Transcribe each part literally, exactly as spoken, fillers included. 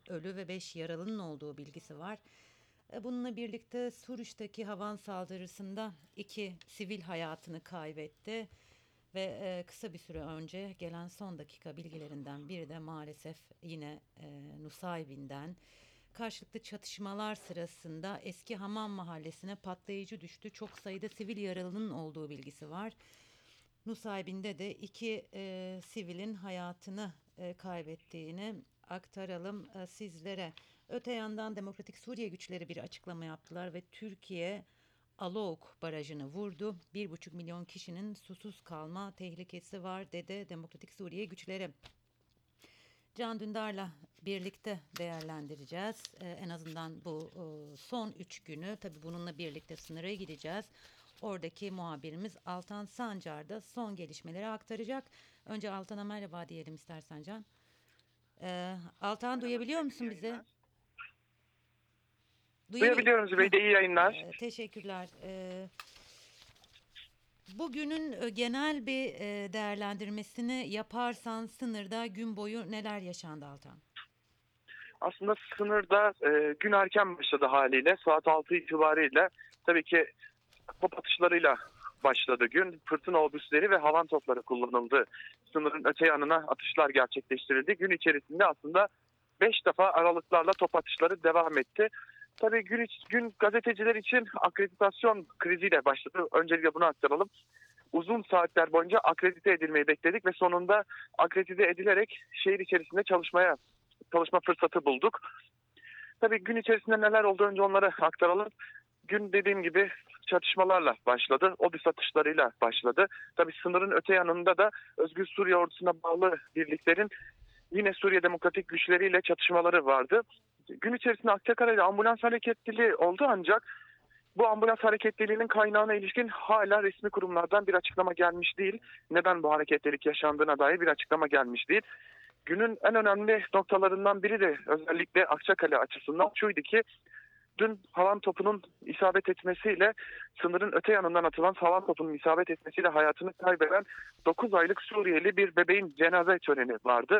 ölü ve beş yaralının olduğu bilgisi var. E, Bununla birlikte Suruç'taki havan saldırısında iki sivil hayatını kaybetti. Ve e, kısa bir süre önce gelen son dakika bilgilerinden biri de maalesef yine e, Nusaybin'den karşılıklı çatışmalar sırasında eski Hamam Mahallesi'ne patlayıcı düştü. Çok sayıda sivil yaralının olduğu bilgisi var. Nusaybin'de de iki e, sivilin hayatını e, kaybettiğini aktaralım e, sizlere. Öte yandan Demokratik Suriye güçleri bir açıklama yaptılar ve Türkiye Alok barajını vurdu. Bir buçuk milyon kişinin susuz kalma tehlikesi var dedi Demokratik Suriye güçleri. Can Dündar'la birlikte değerlendireceğiz. Ee, en azından bu e, son üç günü. Tabii bununla birlikte sınıra gideceğiz. Oradaki muhabirimiz Altan Sancar da son gelişmeleri aktaracak. Önce Altan'a merhaba diyelim istersen Can. Ee, Altan Merhaba duyabiliyor Zübeyde, iyi musun bizi? yayınlar. Duyabil Duyabiliyorum Zübeyde, iyi yayınlar. Ee, teşekkürler. Ee, bugünün e, genel bir e, değerlendirmesini yaparsan sınırda gün boyu neler yaşandı Altan? Aslında sınırda e, gün erken başladı haliyle. Saat altı itibariyle tabii ki top atışlarıyla başladı gün. Fırtına obüsleri ve havan topları kullanıldı. Sınırın öte yanına atışlar gerçekleştirildi. Gün içerisinde aslında beş defa aralıklarla top atışları devam etti. Tabii gün, gün gazeteciler için akreditasyon kriziyle başladı. Öncelikle bunu aktaralım. Uzun saatler boyunca akredite edilmeyi bekledik ve sonunda akredite edilerek şehir içerisinde çalışmaya çalışma fırsatı bulduk. Tabii gün içerisinde neler oldu önce onları aktaralım. Gün dediğim gibi çatışmalarla başladı. Obüs atışlarıyla başladı. Tabii sınırın öte yanında da Özgür Suriye ordusuna bağlı birliklerin yine Suriye Demokratik güçleriyle çatışmaları vardı. Gün içerisinde Akçakale'de ambulans hareketliliği oldu ancak bu ambulans hareketliliğinin kaynağına ilişkin hala resmi kurumlardan bir açıklama gelmiş değil. Neden bu hareketlilik yaşandığına dair bir açıklama gelmiş değil. Günün en önemli noktalarından biri de özellikle Akçakale açısından şuydu ki dün havan topunun isabet etmesiyle sınırın öte yanından atılan havan topunun isabet etmesiyle hayatını kaybeden dokuz aylık Suriyeli bir bebeğin cenaze töreni vardı.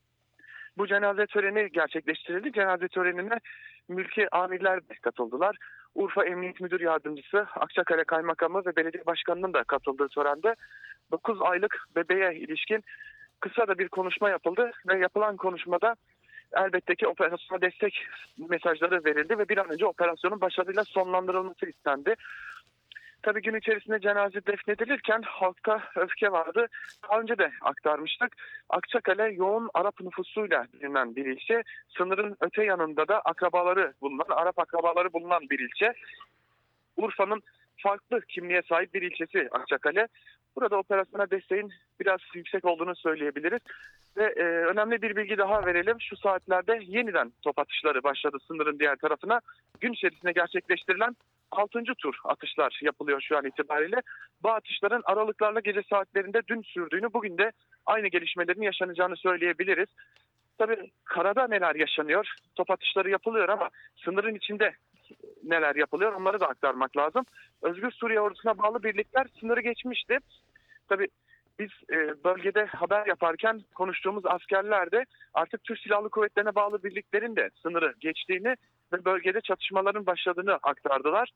Bu cenaze töreni gerçekleştirildi. Cenaze törenine mülki amirler de katıldılar. Urfa Emniyet Müdür Yardımcısı, Akçakale Kaymakamı ve Belediye Başkanı'nın da katıldığı törende dokuz aylık bebeğe ilişkin kısa da bir konuşma yapıldı ve yapılan konuşmada elbette ki operasyona destek mesajları verildi ve bir an önce operasyonun başarıyla sonlandırılması istendi. Tabii gün içerisinde cenaze defnedilirken halkta öfke vardı. Daha önce de aktarmıştık. Akçakale yoğun Arap nüfusuyla bilinen bir ilçe. Sınırın öte yanında da akrabaları bulunan, Arap akrabaları bulunan bir ilçe. Urfa'nın farklı kimliğe sahip bir ilçesi Akçakale. Burada operasyona desteğin biraz yüksek olduğunu söyleyebiliriz. Ve e, önemli bir bilgi daha verelim. Şu saatlerde yeniden top atışları başladı sınırın diğer tarafına. Gün içerisinde gerçekleştirilen altıncı tur atışlar yapılıyor şu an itibariyle. Bu atışların aralıklarla gece saatlerinde dün sürdüğünü, bugün de aynı gelişmelerin yaşanacağını söyleyebiliriz. Tabii karada neler yaşanıyor? Top atışları yapılıyor ama sınırın içinde neler yapılıyor onları da aktarmak lazım. Özgür Suriye ordusuna bağlı birlikler sınırı geçmişti. Tabii biz e, bölgede haber yaparken konuştuğumuz askerler de artık Türk Silahlı Kuvvetleri'ne bağlı birliklerin de sınırı geçtiğini ve bölgede çatışmaların başladığını aktardılar.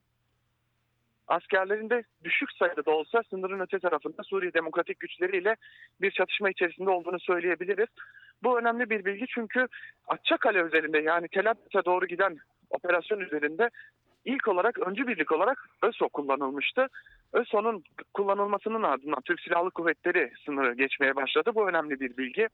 Askerlerin de düşük sayıda da olsa sınırın öte tarafında Suriye Demokratik güçleriyle bir çatışma içerisinde olduğunu söyleyebiliriz. Bu önemli bir bilgi çünkü Akçakale üzerinde, yani Tel Abyad'a doğru giden operasyon üzerinde ilk olarak öncü birlik olarak ÖSO kullanılmıştı. ÖSO'nun kullanılmasının ardından Türk Silahlı Kuvvetleri sınırı geçmeye başladı. Bu önemli bir bilgi.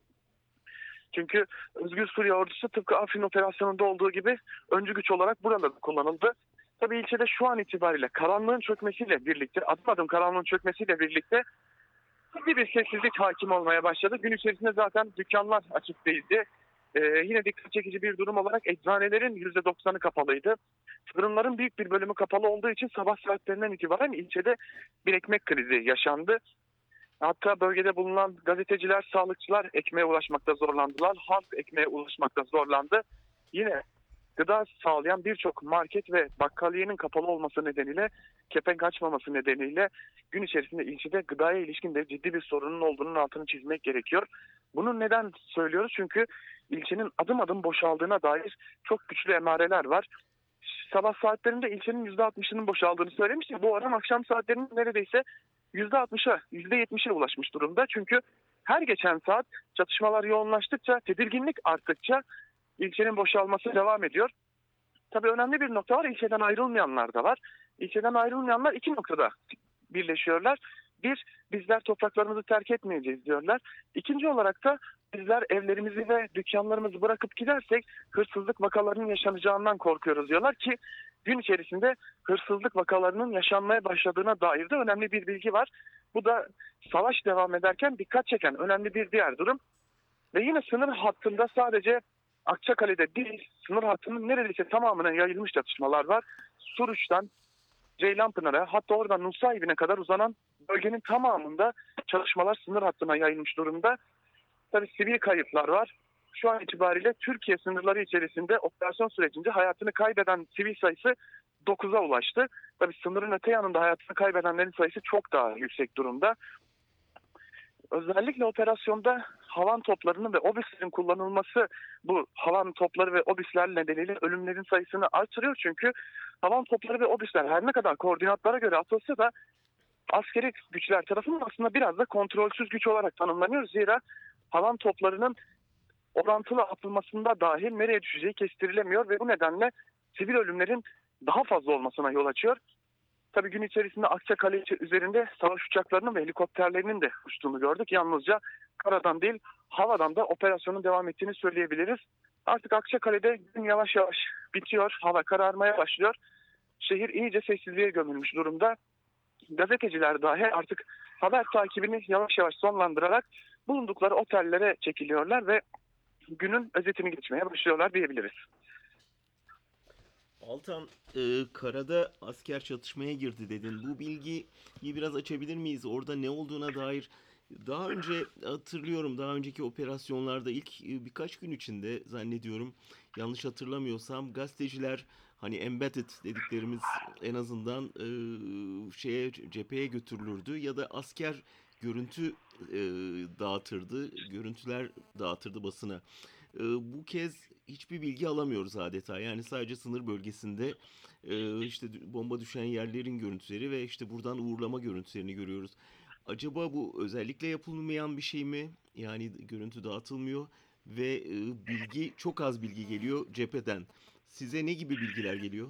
Çünkü Özgür Suriye Ordusu tıpkı Afrin operasyonunda olduğu gibi öncü güç olarak burada da kullanıldı. Tabii ilçede şu an itibariyle karanlığın çökmesiyle birlikte, adım adım karanlığın çökmesiyle birlikte ciddi bir sessizlik hakim olmaya başladı. Gün içerisinde zaten dükkanlar açık değildi. Ee, yine dikkat çekici bir durum olarak eczanelerin yüzde doksanı kapalıydı. Fırınların büyük bir bölümü kapalı olduğu için sabah saatlerinden itibaren ilçede bir ekmek krizi yaşandı. Hatta bölgede bulunan gazeteciler, sağlıkçılar ekmeğe ulaşmakta zorlandılar. Halk ekmeğe ulaşmakta zorlandı. Yine gıda sağlayan birçok market ve bakkaliyenin kapalı olması nedeniyle, kepenk açmaması nedeniyle gün içerisinde ilçede gıdaya ilişkin de ciddi bir sorunun olduğunun altını çizmek gerekiyor. Bunu neden söylüyoruz? Çünkü ilçenin adım adım boşaldığına dair çok güçlü emareler var. Sabah saatlerinde ilçenin yüzde altmışının boşaldığını söylemiştim. Bu oran akşam saatlerinin neredeyse yüzde altmışa, yüzde yetmişe ulaşmış durumda. Çünkü her geçen saat çatışmalar yoğunlaştıkça, tedirginlik arttıkça ilçenin boşalması devam ediyor. Tabii önemli bir nokta var. İlçeden ayrılmayanlar da var. İlçeden ayrılmayanlar iki noktada birleşiyorlar. Bir, bizler topraklarımızı terk etmeyeceğiz diyorlar. İkinci olarak da bizler evlerimizi ve dükkanlarımızı bırakıp gidersek hırsızlık vakalarının yaşanacağından korkuyoruz diyorlar ki gün içerisinde hırsızlık vakalarının yaşanmaya başladığına dair de önemli bir bilgi var. Bu da savaş devam ederken dikkat çeken önemli bir diğer durum. Ve yine sınır hattında sadece Akçakale'de değil, sınır hattının neredeyse tamamına yayılmış çatışmalar var. Suruç'tan Ceylanpınar'a, hatta oradan Nusaybin'e kadar uzanan bölgenin tamamında çalışmalar sınır hattına yayılmış durumda. Tabii sivil kayıplar var. Şu an itibariyle Türkiye sınırları içerisinde operasyon sürecince hayatını kaybeden sivil sayısı dokuza ulaştı. Tabii sınırın öte yanında hayatını kaybedenlerin sayısı çok daha yüksek durumda. Özellikle operasyonda havan toplarının ve obüslerin kullanılması bu havan topları ve obüsler nedeniyle ölümlerin sayısını artırıyor. Çünkü havan topları ve obüsler her ne kadar koordinatlara göre atılsa da askeri güçler tarafından aslında biraz da kontrolsüz güç olarak tanımlanıyor. Zira havan toplarının orantılı atılmasında dahil nereye düşeceği kestirilemiyor ve bu nedenle sivil ölümlerin daha fazla olmasına yol açıyor. Tabii gün içerisinde Akçakale üzerinde savaş uçaklarının ve helikopterlerinin de uçtuğunu gördük. Yalnızca karadan değil havadan da operasyonun devam ettiğini söyleyebiliriz. Artık Akçakale'de gün yavaş yavaş bitiyor. Hava kararmaya başlıyor. Şehir iyice sessizliğe gömülmüş durumda. Gazeteciler dahi artık haber takibini yavaş yavaş sonlandırarak bulundukları otellere çekiliyorlar ve günün özetini geçmeye başlıyorlar diyebiliriz. Altan, e, karada asker çatışmaya girdi dedin. Bu bilgiyi biraz açabilir miyiz? Orada ne olduğuna dair daha önce hatırlıyorum, daha önceki operasyonlarda ilk e, birkaç gün içinde zannediyorum, yanlış hatırlamıyorsam gazeteciler hani embedded dediklerimiz en azından e, şeye cepheye götürülürdü ya da asker görüntü e, dağıtırdı, görüntüler dağıtırdı basına. E, bu kez hiçbir bilgi alamıyoruz adeta. Yani sadece sınır bölgesinde e, işte bomba düşen yerlerin görüntüleri ve işte buradan uğurlama görüntülerini görüyoruz. Acaba bu özellikle yapılmayan bir şey mi? Yani görüntü dağıtılmıyor ve e, bilgi çok az bilgi geliyor cepheden. Size ne gibi bilgiler geliyor?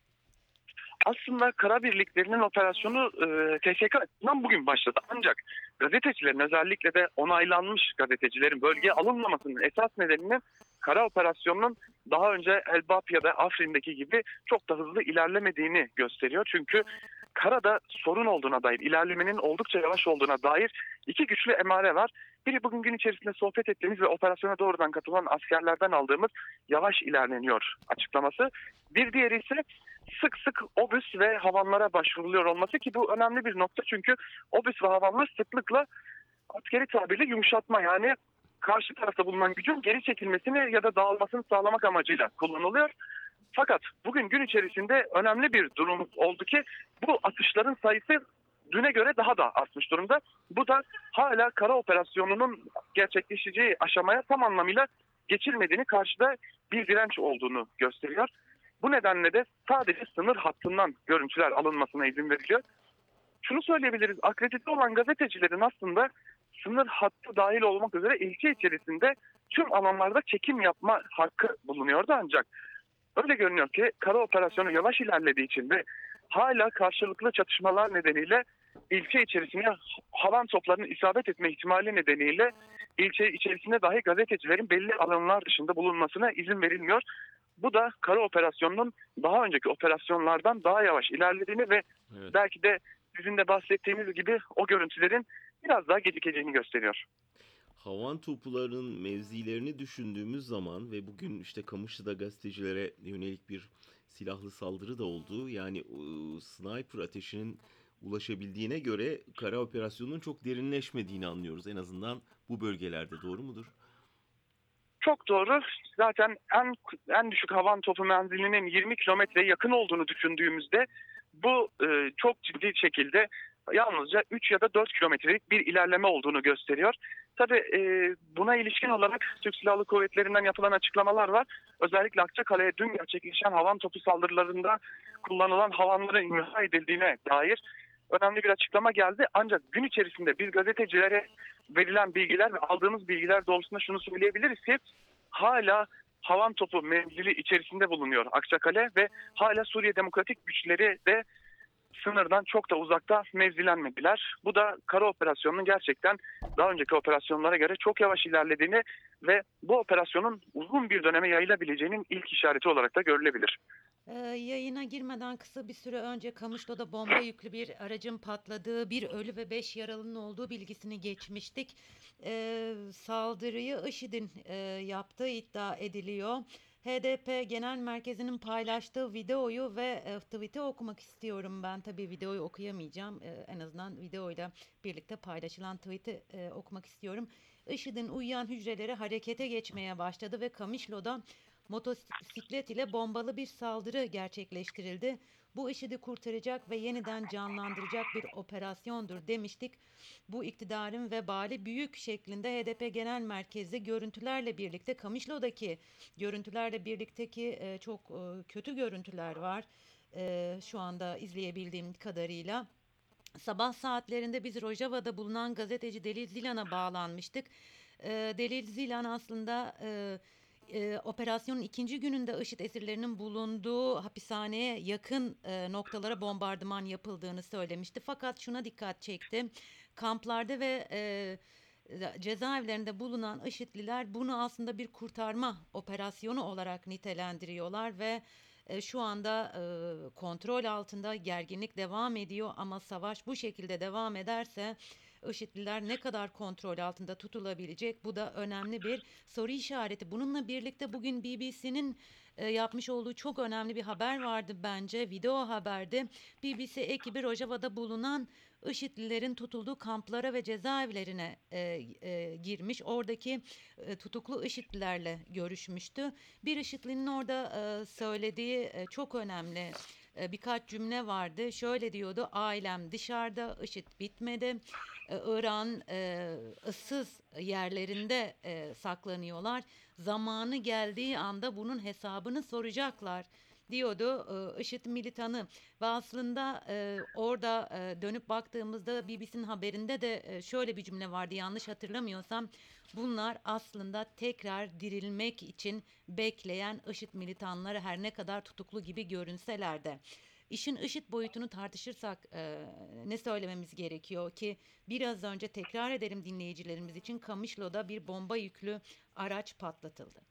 Aslında kara birliklerinin operasyonu e, T S K'dan bugün başladı. Ancak gazetecilerin özellikle de onaylanmış gazetecilerin bölgeye alınmamasının esas nedeninin kara operasyonunun daha önce Elbap ya da Afrin'deki gibi çok da hızlı ilerlemediğini gösteriyor. Çünkü karada sorun olduğuna dair, ilerlemenin oldukça yavaş olduğuna dair iki güçlü emare var. Biri bugün gün içerisinde sohbet ettiğimiz ve operasyona doğrudan katılan askerlerden aldığımız yavaş ilerleniyor açıklaması. Bir diğeri ise sık sık obüs ve havanlara başvuruluyor olması ki bu önemli bir nokta. Çünkü obüs ve havanlar sıklıkla askeri tabirle yumuşatma, yani karşı tarafta bulunan gücün geri çekilmesini ya da dağılmasını sağlamak amacıyla kullanılıyor. Fakat bugün gün içerisinde önemli bir durum oldu ki bu atışların sayısı düne göre daha da artmış durumda. Bu da hala kara operasyonunun gerçekleşeceği aşamaya tam anlamıyla geçilmediğini, karşıda bir direnç olduğunu gösteriyor. Bu nedenle de sadece sınır hattından görüntüler alınmasına izin veriliyor. Şunu söyleyebiliriz, akredite olan gazetecilerin aslında sınır hattı dahil olmak üzere ilçe içerisinde tüm alanlarda çekim yapma hakkı bulunuyordu, ancak öyle görünüyor ki kara operasyonu yavaş ilerlediği için ve hala karşılıklı çatışmalar nedeniyle ilçe içerisine havan toplarının isabet etme ihtimali nedeniyle ilçe içerisinde dahi gazetecilerin belli alanlar dışında bulunmasına izin verilmiyor. Bu da kara operasyonunun daha önceki operasyonlardan daha yavaş ilerlediğini ve Evet. belki de sizin de bahsettiğiniz gibi o görüntülerin biraz daha gecikeceğini gösteriyor. Havan toplarının mevzilerini düşündüğümüz zaman ve bugün işte Kamışlı'da gazetecilere yönelik bir silahlı saldırı da oldu. Yani e, sniper ateşinin ulaşabildiğine göre kara operasyonunun çok derinleşmediğini anlıyoruz. En azından bu bölgelerde, doğru mudur? Çok doğru. Zaten en en düşük havan topu menzilinin yirmi kilometreye yakın olduğunu düşündüğümüzde bu e, çok ciddi şekilde yalnızca üç ya da dört kilometrelik bir ilerleme olduğunu gösteriyor. Tabii e, buna ilişkin olarak Türk Silahlı Kuvvetleri'nden yapılan açıklamalar var. Özellikle Akçakale'ye dün gerçekleşen havan topu saldırılarında kullanılan havanların imha edildiğine dair önemli bir açıklama geldi. Ancak gün içerisinde biz gazetecilere verilen bilgiler ve aldığımız bilgiler doğrultusunda şunu söyleyebiliriz ki hala havan topu menzili içerisinde bulunuyor Akçakale ve hala Suriye Demokratik Güçleri de sınırdan çok da uzakta mevzilenmediler. Bu da kara operasyonunun gerçekten daha önceki operasyonlara göre çok yavaş ilerlediğini ve bu operasyonun uzun bir döneme yayılabileceğinin ilk işareti olarak da görülebilir. Ee, yayına girmeden kısa bir süre önce Kamışlı'da bomba yüklü bir aracın patladığı, bir ölü ve beş yaralının olduğu bilgisini geçmiştik. Ee, saldırıyı IŞİD'in e, yaptığı iddia ediliyor. H D P Genel Merkezi'nin paylaştığı videoyu ve e, tweet'i okumak istiyorum. Ben tabii videoyu okuyamayacağım. E, en azından videoyla birlikte paylaşılan tweet'i e, okumak istiyorum. IŞİD'in uyuyan hücreleri harekete geçmeye başladı ve Kamışlo'da motosiklet ile bombalı bir saldırı gerçekleştirildi. Bu IŞİD'i kurtaracak ve yeniden canlandıracak bir operasyondur demiştik. Bu iktidarın vebali büyük şeklinde H D P Genel Merkezi görüntülerle birlikte Kamışlo'daki görüntülerle birlikteki e, çok e, kötü görüntüler var. E, şu anda izleyebildiğim kadarıyla. Sabah saatlerinde biz Rojava'da bulunan gazeteci Delil Zilan'a bağlanmıştık. E, Delil Zilan aslında e, e, operasyonun ikinci gününde IŞİD esirlerinin bulunduğu hapishaneye yakın e, noktalara bombardıman yapıldığını söylemişti. Fakat şuna dikkat çekti. Kamplarda ve e, cezaevlerinde bulunan IŞİD'liler bunu aslında bir kurtarma operasyonu olarak nitelendiriyorlar ve e, şu anda e, kontrol altında, gerginlik devam ediyor ama savaş bu şekilde devam ederse IŞİD'liler ne kadar kontrol altında tutulabilecek? Bu da önemli bir soru işareti. Bununla birlikte bugün B B C'nin e, yapmış olduğu çok önemli bir haber vardı bence. Video haberdi. B B C ekibi Rojava'da bulunan IŞİD'lilerin tutulduğu kamplara ve cezaevlerine e, e, girmiş. Oradaki e, tutuklu IŞİD'lilerle görüşmüştü. Bir IŞİD'linin orada e, söylediği e, çok önemli e, birkaç cümle vardı. Şöyle diyordu: ailem dışarıda, IŞİD bitmedi. E, Irak'ın e, ıssız yerlerinde e, saklanıyorlar. Zamanı geldiği anda bunun hesabını soracaklar diyordu e, IŞİD militanı. Ve aslında e, orada e, dönüp baktığımızda B B C'nin haberinde de e, şöyle bir cümle vardı, yanlış hatırlamıyorsam. Bunlar aslında tekrar dirilmek için bekleyen IŞİD militanları, her ne kadar tutuklu gibi görünseler de. İşin IŞİD boyutunu tartışırsak e, ne söylememiz gerekiyor ki biraz önce tekrar edelim dinleyicilerimiz için, Kamışlo'da bir bomba yüklü araç patlatıldı.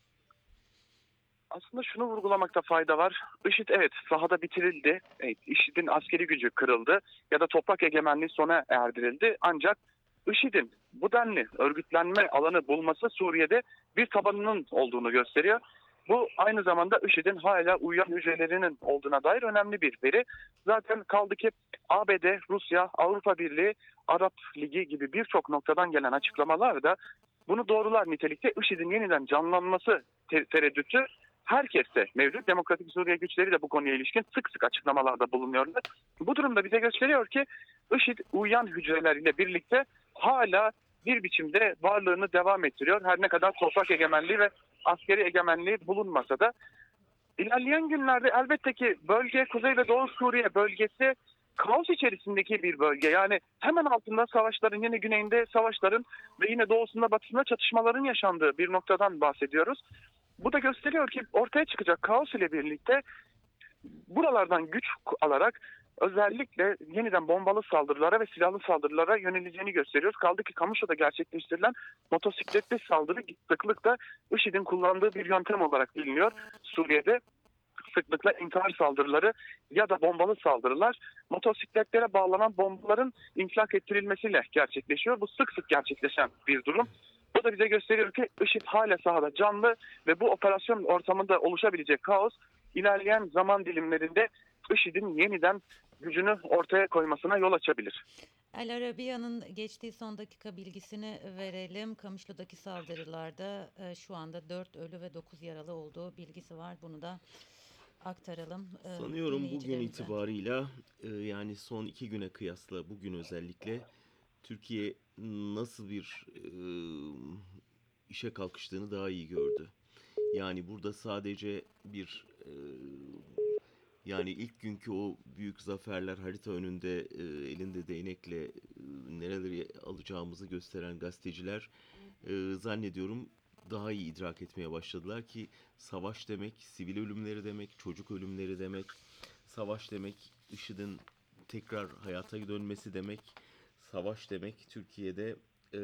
Aslında şunu vurgulamakta fayda var. IŞİD evet sahada bitirildi. Evet, IŞİD'in askeri gücü kırıldı ya da toprak egemenliği sona erdirildi. Ancak IŞİD'in bu denli örgütlenme alanı bulması Suriye'de bir tabanının olduğunu gösteriyor. Bu aynı zamanda IŞİD'in hala uyuyan hücrelerinin olduğuna dair önemli bir veri. Zaten kaldı ki A B D, Rusya, Avrupa Birliği, Arap Ligi gibi birçok noktadan gelen açıklamalar da bunu doğrular nitelikte. IŞİD'in yeniden canlanması te- tereddütü herkeste mevcut. Demokratik Suriye güçleri de bu konuya ilişkin sık sık açıklamalarda bulunuyorlar. Bu durumda bize gösteriyor ki IŞİD uyuyan hücreleriyle birlikte hala bir biçimde varlığını devam ettiriyor. Her ne kadar toprak egemenliği ve askeri egemenliği bulunmasa da ilerleyen günlerde elbette ki bölge, Kuzey ve Doğu Suriye bölgesi kaos içerisindeki bir bölge. Yani hemen altında savaşların, yine güneyinde savaşların ve yine doğusunda batısında çatışmaların yaşandığı bir noktadan bahsediyoruz. Bu da gösteriyor ki ortaya çıkacak kaos ile birlikte buralardan güç alarak özellikle yeniden bombalı saldırılara ve silahlı saldırılara yöneleceğini gösteriyoruz. Kaldı ki Kamışlı'da gerçekleştirilen motosikletli saldırı sıklıkla IŞİD'in kullandığı bir yöntem olarak biliniyor. Suriye'de sıklıkla intihar saldırıları ya da bombalı saldırılar motosikletlere bağlanan bombaların infilak ettirilmesiyle gerçekleşiyor. Bu sık sık gerçekleşen bir durum. Bu da bize gösteriyor ki IŞİD hala sahada canlı ve bu operasyon ortamında oluşabilecek kaos ilerleyen zaman dilimlerinde IŞİD'in yeniden gücünü ortaya koymasına yol açabilir. El Arabiya'nın geçtiği son dakika bilgisini verelim. Kamışlı'daki saldırılarda e, şu anda dört ölü ve dokuz yaralı olduğu bilgisi var. Bunu da aktaralım e, Sanıyorum bugün dinleyicilerimize. itibarıyla e, yani son iki güne kıyasla bugün özellikle Türkiye nasıl bir e, işe kalkıştığını daha iyi gördü. Yani burada sadece bir e, yani ilk günkü o büyük zaferler harita önünde e, elinde değnekle e, nereleri alacağımızı gösteren gazeteciler e, zannediyorum daha iyi idrak etmeye başladılar ki savaş demek, sivil ölümleri demek, çocuk ölümleri demek, savaş demek, IŞİD'in tekrar hayata dönmesi demek, savaş demek Türkiye'de e,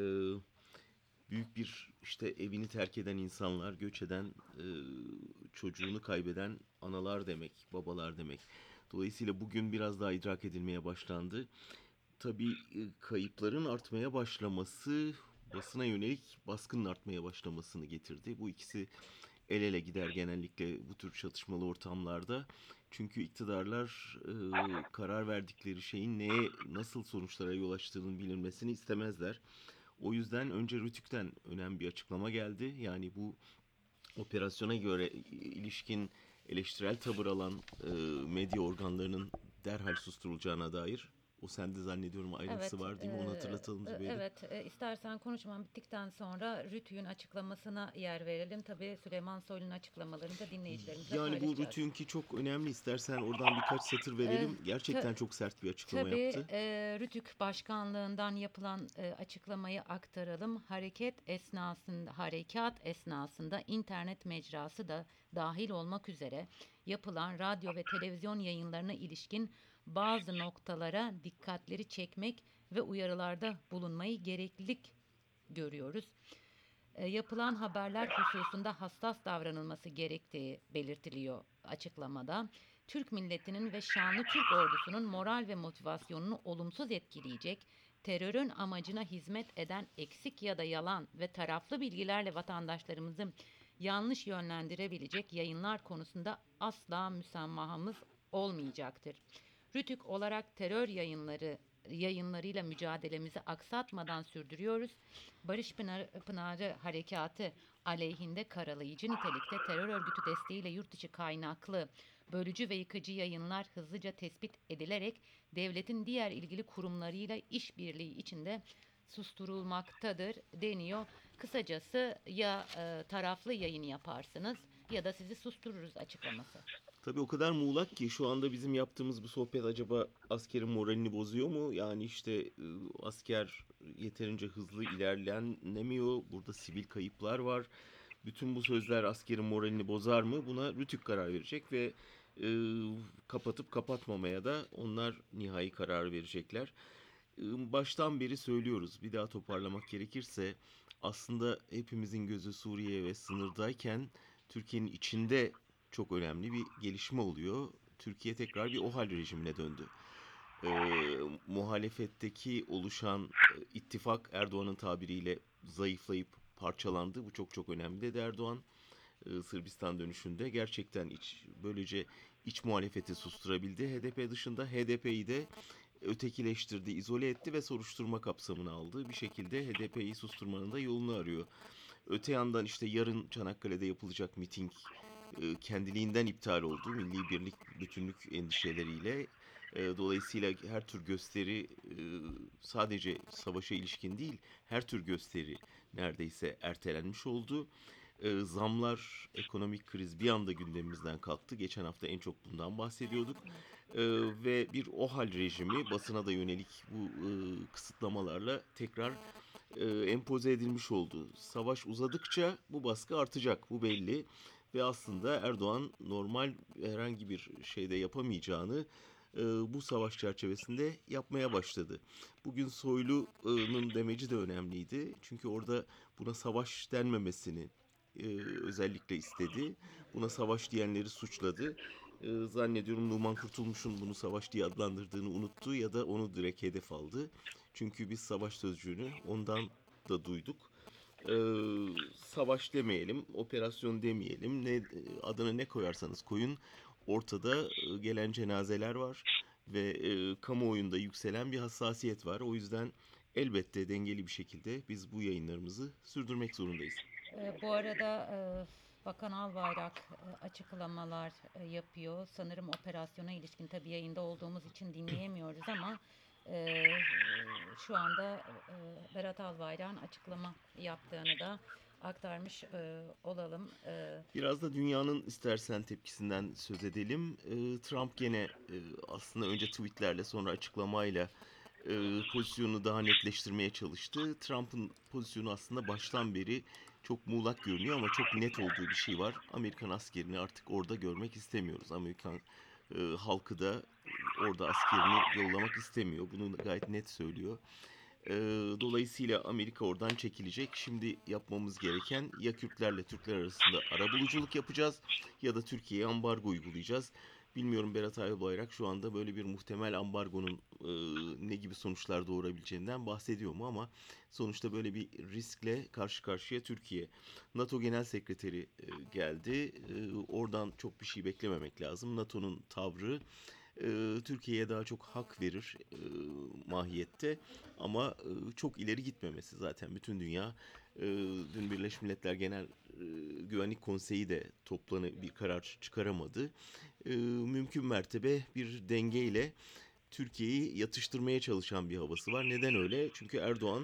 büyük bir işte evini terk eden insanlar, göç eden, e, çocuğunu kaybeden analar demek, babalar demek. Dolayısıyla bugün biraz daha idrak edilmeye başlandı. Tabii e, kayıpların artmaya başlaması basına yönelik baskının artmaya başlamasını getirdi. Bu ikisi el ele gider genellikle bu tür çatışmalı ortamlarda. Çünkü iktidarlar e, karar verdikleri şeyin neye, nasıl sonuçlara yol açtığının bilinmesini istemezler. O yüzden önce Rütük'ten önemli bir açıklama geldi. Yani bu operasyona göre ilişkin eleştirel tavır alan e, medya organlarının derhal susturulacağına dair. O sende zannediyorum ayrıntısı Evet, var değil mi? Onu eee, hatırlatalım e, Zübeyde. evet. E, istersen konuşmam bittikten sonra Rütü'nün açıklamasına yer verelim. Tabii Süleyman Soylu'nun açıklamalarını da dinleyicilerimizle Yani bu paylaşacağız. Rütük'ünki çok önemli. İstersen oradan birkaç satır E, verelim. ta- Gerçekten çok sert bir açıklama tabii yaptı. e, Rütük Başkanlığından yapılan e, açıklamayı aktaralım. Hareket esnasında, harekat esnasında internet mecrası da dahil olmak üzere yapılan radyo ve televizyon yayınlarına ilişkin bazı noktalara dikkatleri çekmek ve uyarılarda bulunmayı gereklilik görüyoruz. E, yapılan haberler hususunda hassas davranılması gerektiği belirtiliyor açıklamada. Türk milletinin ve şanlı Türk ordusunun moral ve motivasyonunu olumsuz etkileyecek, terörün amacına hizmet eden eksik ya da yalan ve taraflı bilgilerle vatandaşlarımızı yanlış yönlendirebilecek yayınlar konusunda asla müsamahımız olmayacaktır. Rütük olarak terör yayınları yayınlarıyla mücadelemizi aksatmadan sürdürüyoruz. Barış Pınarı, Pınarı Harekatı aleyhinde karalayıcı nitelikte terör örgütü desteğiyle yurt dışı kaynaklı bölücü ve yıkıcı yayınlar hızlıca tespit edilerek devletin diğer ilgili kurumlarıyla işbirliği içinde susturulmaktadır deniyor. Kısacası ya e, taraflı yayın yaparsınız ya da sizi sustururuz açıklaması. Tabii o kadar muğlak ki şu anda bizim yaptığımız bu sohbet acaba askerin moralini bozuyor mu? Yani işte e, asker yeterince hızlı ilerlenemiyor. Burada sivil kayıplar var. Bütün bu sözler askerin moralini bozar mı? Buna Rütük karar verecek ve e, kapatıp kapatmamaya da onlar nihai karar verecekler. E, baştan beri söylüyoruz. Bir daha toparlamak gerekirse aslında hepimizin gözü Suriye ve sınırdayken Türkiye'nin içinde çok önemli bir gelişme oluyor. Türkiye tekrar bir OHAL rejimine döndü. Ee, muhalefetteki oluşan e, ittifak Erdoğan'ın tabiriyle zayıflayıp parçalandı. Bu çok çok önemli dedi Erdoğan. Ee, Sırbistan dönüşünde gerçekten iç, böylece iç muhalefeti susturabildi. H D P dışında H D P'yi de ötekileştirdi, izole etti ve soruşturma kapsamına aldı. Bir şekilde H D P'yi susturmanın da yolunu arıyor. Öte yandan işte yarın Çanakkale'de yapılacak miting e, kendiliğinden iptal oldu. Milli birlik, bütünlük endişeleriyle. E, Dolayısıyla her tür gösteri e, sadece savaşa ilişkin değil, her tür gösteri neredeyse ertelenmiş oldu. E, Zamlar, ekonomik kriz bir anda gündemimizden kalktı. Geçen hafta en çok bundan bahsediyorduk. E, Ve bir OHAL rejimi basına da yönelik bu e, kısıtlamalarla tekrar e, empoze edilmiş oldu. Savaş uzadıkça bu baskı artacak, bu belli. Ve aslında Erdoğan normal herhangi bir şeyde yapamayacağını e, bu savaş çerçevesinde yapmaya başladı. Bugün Soylu'nun demeci de önemliydi. Çünkü orada buna savaş denmemesini e, özellikle istedi. Buna savaş diyenleri suçladı. E, zannediyorum Numan Kurtulmuş'un bunu savaş diye adlandırdığını unuttu ya da onu direkt hedef aldı. Çünkü biz savaş sözcüğünü ondan da duyduk. Ee, Savaş demeyelim, operasyon demeyelim, ne adına ne koyarsanız koyun. Ortada e, gelen cenazeler var ve e, kamuoyunda yükselen bir hassasiyet var. O yüzden elbette dengeli bir şekilde biz bu yayınlarımızı sürdürmek zorundayız. Ee, bu arada e, Bakan Albayrak e, açıklamalar e, yapıyor. Sanırım operasyona ilişkin, tabii yayında olduğumuz için dinleyemiyoruz ama e, şu anda e, Berat Albayrak'ın açıklama yaptığını da aktarmış e, olalım. E, Biraz da dünyanın istersen tepkisinden söz edelim. Ee, Trump gene e, aslında önce tweetlerle sonra açıklamayla e, pozisyonu daha netleştirmeye çalıştı. Trump'ın pozisyonu aslında baştan beri çok muğlak görünüyor ama çok net olduğu bir şey var. Amerikan askerini artık orada görmek istemiyoruz. Amerikan e, halkı da orada askerini yollamak istemiyor. Bunu gayet net söylüyor. Ee, dolayısıyla Amerika oradan çekilecek. Şimdi yapmamız gereken ya Kürtlerle Türkler arasında arabuluculuk yapacağız ya da Türkiye'ye ambargo uygulayacağız. Bilmiyorum, Berat Albayrak şu anda böyle bir muhtemel ambargonun e, ne gibi sonuçlar doğurabileceğinden bahsediyor mu, ama sonuçta böyle bir riskle karşı karşıya Türkiye. NATO Genel Sekreteri e, geldi. E, oradan çok bir şey beklememek lazım. NATO'nun tavrı e, Türkiye'ye daha çok hak verir e, mahiyette, ama e, çok ileri gitmemesi. Zaten bütün dünya e, dün Birleşmiş Milletler Genel e, Güvenlik Konseyi de toplanıp bir karar çıkaramadı. E, mümkün mertebe bir dengeyle Türkiye'yi yatıştırmaya çalışan bir havası var. Neden öyle? Çünkü Erdoğan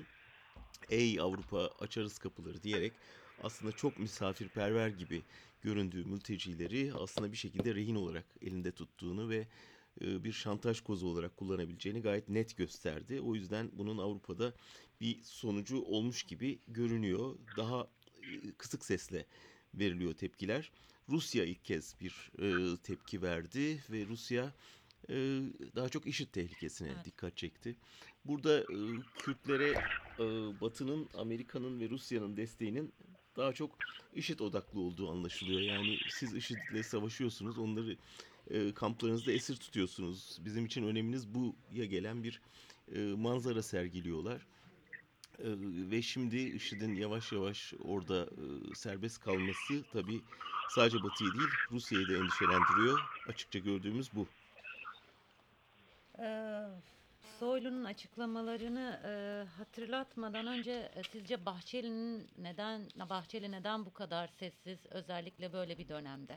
"Ey Avrupa, açarız kapıları" diyerek aslında çok misafirperver gibi göründüğü mültecileri aslında bir şekilde rehin olarak elinde tuttuğunu ve e, bir şantaj kozu olarak kullanabileceğini gayet net gösterdi. O yüzden bunun Avrupa'da bir sonucu olmuş gibi görünüyor. Daha e, kısık sesle veriliyor tepkiler. Rusya ilk kez bir e, tepki verdi ve Rusya e, daha çok IŞİD tehlikesine evet. dikkat çekti. Burada e, Kürtlere e, Batı'nın, Amerika'nın ve Rusya'nın desteğinin daha çok IŞİD odaklı olduğu anlaşılıyor. Yani siz IŞİD'le savaşıyorsunuz, onları e, kamplarınızda esir tutuyorsunuz. Bizim için öneminiz bu'ya gelen bir e, manzara sergiliyorlar. E, ve şimdi IŞİD'in yavaş yavaş orada e, serbest kalması tabii sadece Batı'yı değil, Rusya'yı da endişelendiriyor. Açıkça gördüğümüz bu. Ee, Soylu'nun açıklamalarını e, hatırlatmadan önce e, sizce Bahçeli'nin neden Bahçeli neden bu kadar sessiz, özellikle böyle bir dönemde?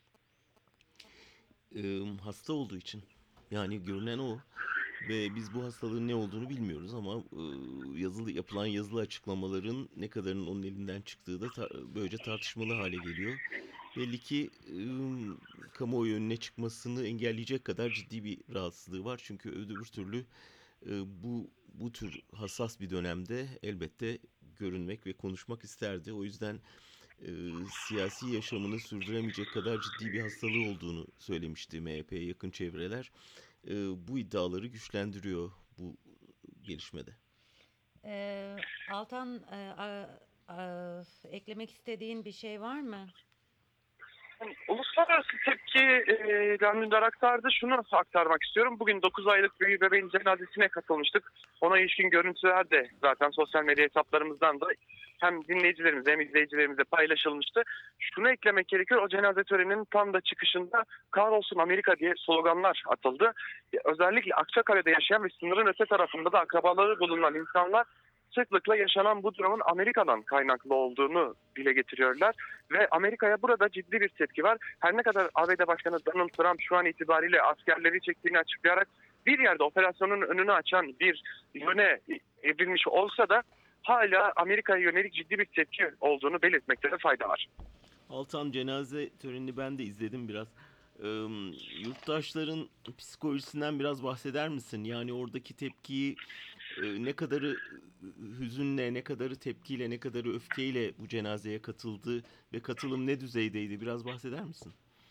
E, hasta olduğu için. Yani görünen o. Ve biz bu hastalığın ne olduğunu bilmiyoruz, ama e, yazılı yapılan yazılı açıklamaların ne kadarının onun elinden çıktığı da ta- böylece tartışmalı hale geliyor. Belli ki e, kamuoyu önüne çıkmasını engelleyecek kadar ciddi bir rahatsızlığı var. Çünkü öbür türlü e, bu bu tür hassas bir dönemde elbette görünmek ve konuşmak isterdi. O yüzden e, siyasi yaşamını sürdüremeyecek kadar ciddi bir hastalığı olduğunu söylemişti M H P'ye yakın çevreler. E, bu iddiaları güçlendiriyor bu gelişmede. Ee, Altan, e, a- a- eklemek istediğin bir şey var mı? Uluslararası tepkiden Dündar aktardı. Şunu aktarmak istiyorum. Bugün dokuz aylık bir bebeğin cenazesine katılmıştık. Ona ilişkin görüntüler de zaten sosyal medya hesaplarımızdan da hem dinleyicilerimize hem izleyicilerimize paylaşılmıştı. Şunu eklemek gerekiyor. O cenaze töreninin tam da çıkışında "Kahrolsun Amerika" diye sloganlar atıldı. Özellikle Akçakale'de yaşayan ve sınırın öte tarafında da akrabaları bulunan insanlar sıklıkla yaşanan bu durumun Amerika'dan kaynaklı olduğunu dile getiriyorlar. Ve Amerika'ya burada ciddi bir tepki var. Her ne kadar A B D Başkanı Donald Trump şu an itibariyle askerleri çektiğini açıklayarak bir yerde operasyonun önünü açan bir yöne evrilmiş olsa da hala Amerika'ya yönelik ciddi bir tepki olduğunu belirtmekte de fayda var. Altan, cenaze törenini ben de izledim biraz. Ee, Yurttaşların psikolojisinden biraz bahseder misin? Yani oradaki tepkiyi e, ne kadarı hüzünle, ne kadarı tepkiyle, ne kadarı öfkeyle bu cenazeye katıldı ve katılım ne düzeydeydi? Biraz bahseder misin?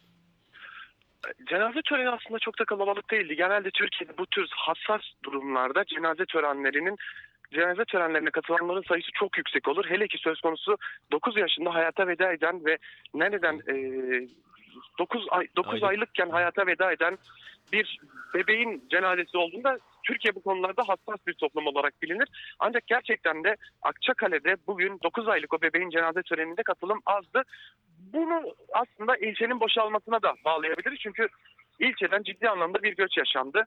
Cenaze töreni aslında çok da kalabalık değildi. Genelde Türkiye'de bu tür hassas durumlarda cenaze törenlerinin cenaze törenlerine katılanların sayısı çok yüksek olur. Hele ki söz konusu dokuz yaşında hayata veda eden ve nereden e, dokuz ay dokuz Aylık. aylıkken hayata veda eden bir bebeğin cenazesi olduğunda Türkiye bu konularda hassas bir toplum olarak bilinir. Ancak gerçekten de Akçakale'de bugün dokuz aylık o bebeğin cenaze töreninde katılım azdı. Bunu aslında ilçenin boşalmasına da bağlayabiliriz. Çünkü ilçeden ciddi anlamda bir göç yaşandı.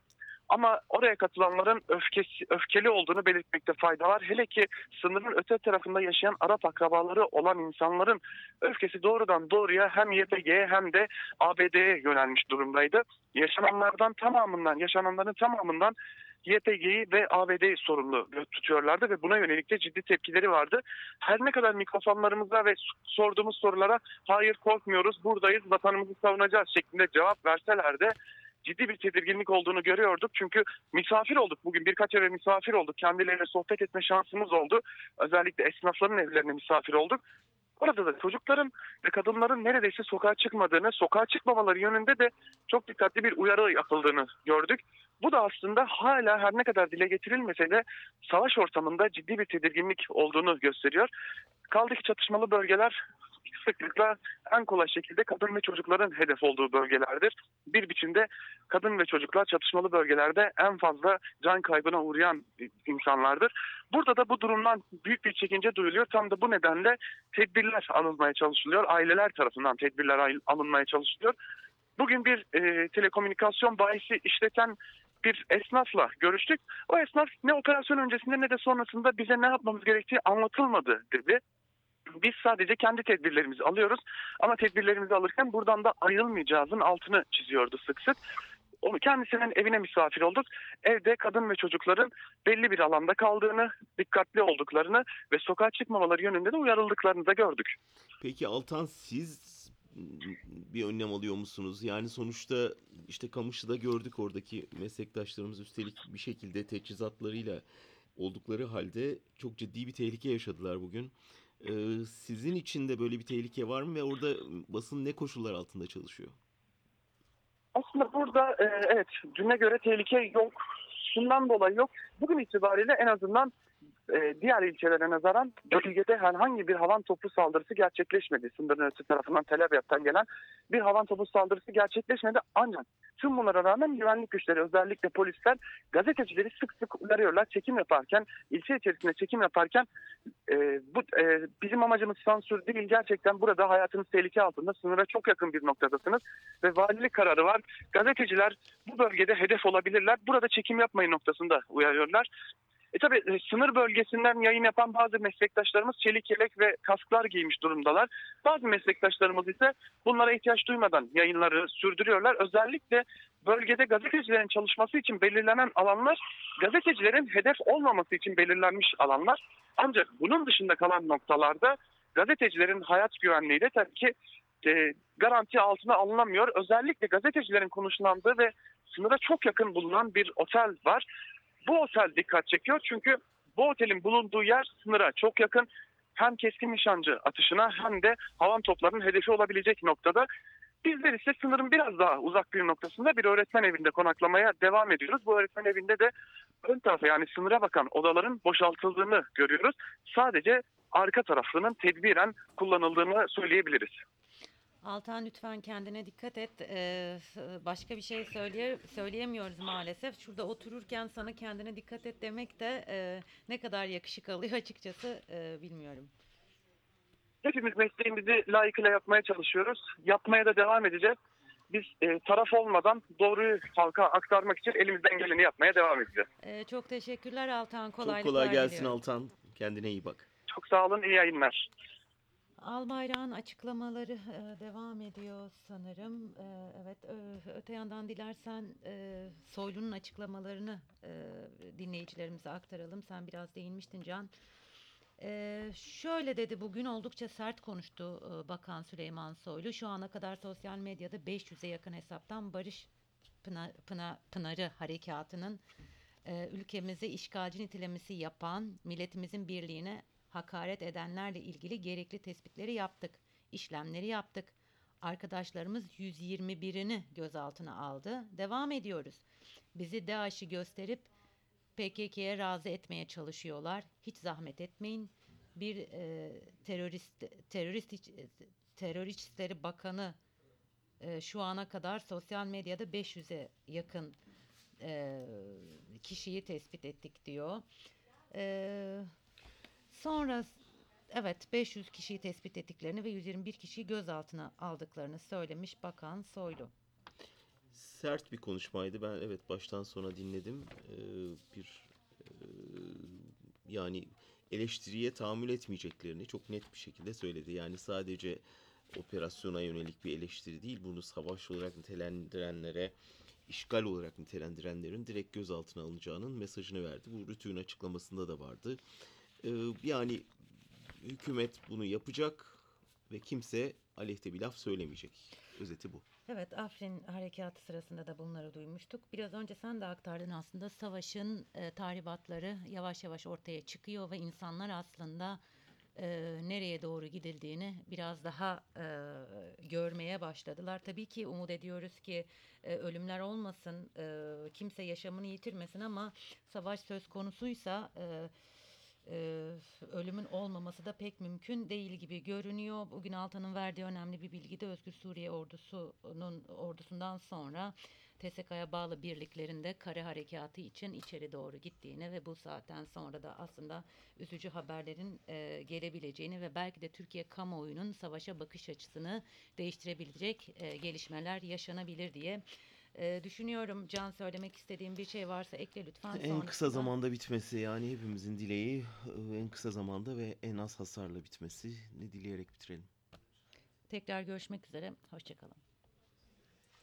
Ama oraya katılanların öfkesi, öfkeli olduğunu belirtmekte fayda var. Hele ki sınırın öte tarafında yaşayan Arap akrabaları olan insanların öfkesi doğrudan doğruya hem Y P G'ye hem de A B D'ye yönelmiş durumdaydı. Yaşananlardan tamamından, yaşananların tamamından Y P G'yi ve A B D'yi sorumlu tutuyorlardı ve buna yönelik de ciddi tepkileri vardı. Her ne kadar mikrofonlarımıza ve sorduğumuz sorulara hayır korkmuyoruz, buradayız, vatanımızı savunacağız şeklinde cevap verseler de ciddi bir tedirginlik olduğunu görüyorduk. Çünkü misafir olduk bugün, birkaç eve misafir olduk. Kendileriyle sohbet etme şansımız oldu. Özellikle esnafların evlerine misafir olduk. Orada da çocukların ve kadınların neredeyse sokağa çıkmadığını, sokağa çıkmamaları yönünde de çok dikkatli bir uyarı yapıldığını gördük. Bu da aslında hala her ne kadar dile getirilmese de savaş ortamında ciddi bir tedirginlik olduğunu gösteriyor. Kaldı ki çatışmalı bölgeler sıklıkla en kolay şekilde kadın ve çocukların hedef olduğu bölgelerdir. Bir biçimde kadın ve çocuklar çatışmalı bölgelerde en fazla can kaybına uğrayan insanlardır. Burada da bu durumdan büyük bir çekince duyuluyor. Tam da bu nedenle tedbirler alınmaya çalışılıyor. Aileler tarafından tedbirler alınmaya çalışılıyor. Bugün bir e, telekomünikasyon bayisi işleten bir esnafla görüştük. O esnaf ne operasyon öncesinde ne de sonrasında bize ne yapmamız gerektiği anlatılmadı dedi. Biz sadece kendi tedbirlerimizi alıyoruz ama tedbirlerimizi alırken buradan da ayrılmayacağızın altını çiziyordu sık sık. Onu kendisinin evine misafir olduk. Evde kadın ve çocukların belli bir alanda kaldığını, dikkatli olduklarını ve sokağa çıkmamaları yönünde de uyarıldıklarını da gördük. Peki Altan, siz bir önlem alıyor musunuz? Yani sonuçta işte Kamışlı'da gördük, oradaki meslektaşlarımız üstelik bir şekilde teçhizatlarıyla oldukları halde çok ciddi bir tehlike yaşadılar bugün. Ee, sizin için de böyle bir tehlike var mı ve orada basın ne koşullar altında çalışıyor? Aslında burada e, evet düne göre tehlike yok. Şundan dolayı yok. Bugün itibariyle en azından e, diğer ilçelere nazaran bölgede herhangi bir havan topu saldırısı gerçekleşmedi. Sınırın ötesi tarafından Tel Abyad'dan gelen bir havan topu saldırısı gerçekleşmedi. Ancak tüm bunlara rağmen güvenlik güçleri, özellikle polisler gazetecileri sık sık uyarıyorlar. Çekim yaparken, ilçe içerisinde çekim yaparken e, bu e, bizim amacımız sansür değil. Gerçekten burada hayatınız tehlike altında, sınıra çok yakın bir noktadasınız ve valilik kararı var. Gazeteciler bu bölgede hedef olabilirler. Burada çekim yapmayın noktasında uyarıyorlar. E tabi e, sınır bölgesinden yayın yapan bazı meslektaşlarımız çelik yelek ve kasklar giymiş durumdalar. Bazı meslektaşlarımız ise bunlara ihtiyaç duymadan yayınları sürdürüyorlar. Özellikle bölgede gazetecilerin çalışması için belirlenen alanlar, gazetecilerin hedef olmaması için belirlenmiş alanlar. Ancak bunun dışında kalan noktalarda gazetecilerin hayat güvenliği de tabii ki e, garanti altına alınamıyor. Özellikle gazetecilerin konuşlandığı ve sınıra çok yakın bulunan bir otel var. Bu otel dikkat çekiyor çünkü bu otelin bulunduğu yer sınıra çok yakın. Hem keskin nişancı atışına hem de havan toplarının hedefi olabilecek noktada. Bizler ise sınırın biraz daha uzak bir noktasında bir öğretmen evinde konaklamaya devam ediyoruz. Bu öğretmen evinde de ön tarafa, yani sınıra bakan odaların boşaltıldığını görüyoruz. Sadece arka tarafının tedbiren kullanıldığını söyleyebiliriz. Altan, lütfen kendine dikkat et. Ee, başka bir şey söyleye, söyleyemiyoruz maalesef. Şurada otururken sana kendine dikkat et demek de e, ne kadar yakışık alıyor açıkçası e, bilmiyorum. Hepimiz mesleğimizi layıkıyla yapmaya çalışıyoruz. Yapmaya da devam edeceğiz. Biz e, taraf olmadan doğruyu halka aktarmak için elimizden geleni yapmaya devam edeceğiz. Ee, çok teşekkürler Altan. Kolaylıklar Çok kolay gelsin diliyorum. Altan. Kendine iyi bak. Çok sağ olun, iyi yayınlar. Albayrak'ın açıklamaları e, devam ediyor sanırım. E, evet, ö- öte yandan dilersen e, Soylu'nun açıklamalarını e, dinleyicilerimize aktaralım. Sen biraz değinmiştin Can. E, şöyle dedi, bugün oldukça sert konuştu e, Bakan Süleyman Soylu. Şu ana kadar sosyal medyada beş yüze yakın hesaptan Barış Pınar, Pınar, Pınarı Harekatı'nın e, ülkemize işgalci nitelemesi yapan, milletimizin birliğine hakaret edenlerle ilgili gerekli tespitleri yaptık, işlemleri yaptık. Arkadaşlarımız yüz yirmi birini gözaltına aldı. Devam ediyoruz. Bizi DAEŞ'i gösterip P K K'ye razı etmeye çalışıyorlar. Hiç zahmet etmeyin. Bir e, terörist terörist terörist İşleri Bakanı e, şu ana kadar sosyal medyada beş yüze yakın e, kişiyi tespit ettik diyor. Eee Sonra evet beş yüz kişiyi tespit ettiklerini ve yüz yirmi bir kişiyi gözaltına aldıklarını söylemiş Bakan Soylu. sert bir konuşmaydı. Ben evet baştan sona dinledim. Ee, bir e, yani eleştiriye tahammül etmeyeceklerini çok net bir şekilde söyledi. Yani sadece operasyona yönelik bir eleştiri değil, bunu savaş olarak nitelendirenlere, işgal olarak nitelendirenlerin direkt gözaltına alınacağının mesajını verdi. Bu Rütük'ün açıklamasında da vardı. Ee, yani hükümet bunu yapacak ve kimse aleyhte bir laf söylemeyecek. Özeti bu. Evet, Afrin harekatı sırasında da bunları duymuştuk. Biraz önce sen de aktardın aslında savaşın e, tahribatları yavaş yavaş ortaya çıkıyor ve insanlar aslında e, nereye doğru gidildiğini biraz daha e, görmeye başladılar. Tabii ki umut ediyoruz ki e, ölümler olmasın, e, kimse yaşamını yitirmesin ama savaş söz konusuysa e, e, ölümün olmaması da pek mümkün değil gibi görünüyor. Bugün Altan'ın verdiği önemli bir bilgi de Özgür Suriye ordusunun ordusundan sonra T S K'ya bağlı birliklerinde kare harekatı için içeri doğru gittiğini ve bu saatten sonra da aslında üzücü haberlerin e, gelebileceğini ve belki de Türkiye kamuoyunun savaşa bakış açısını değiştirebilecek e, gelişmeler yaşanabilir diye e, düşünüyorum. Can, söylemek istediğim bir şey varsa ekle lütfen. En kısa Sonrasında zamanda bitmesi, yani hepimizin dileği e, en kısa zamanda ve en az hasarla bitmesini dileyerek bitirelim. tekrar görüşmek üzere. Hoşça kalın.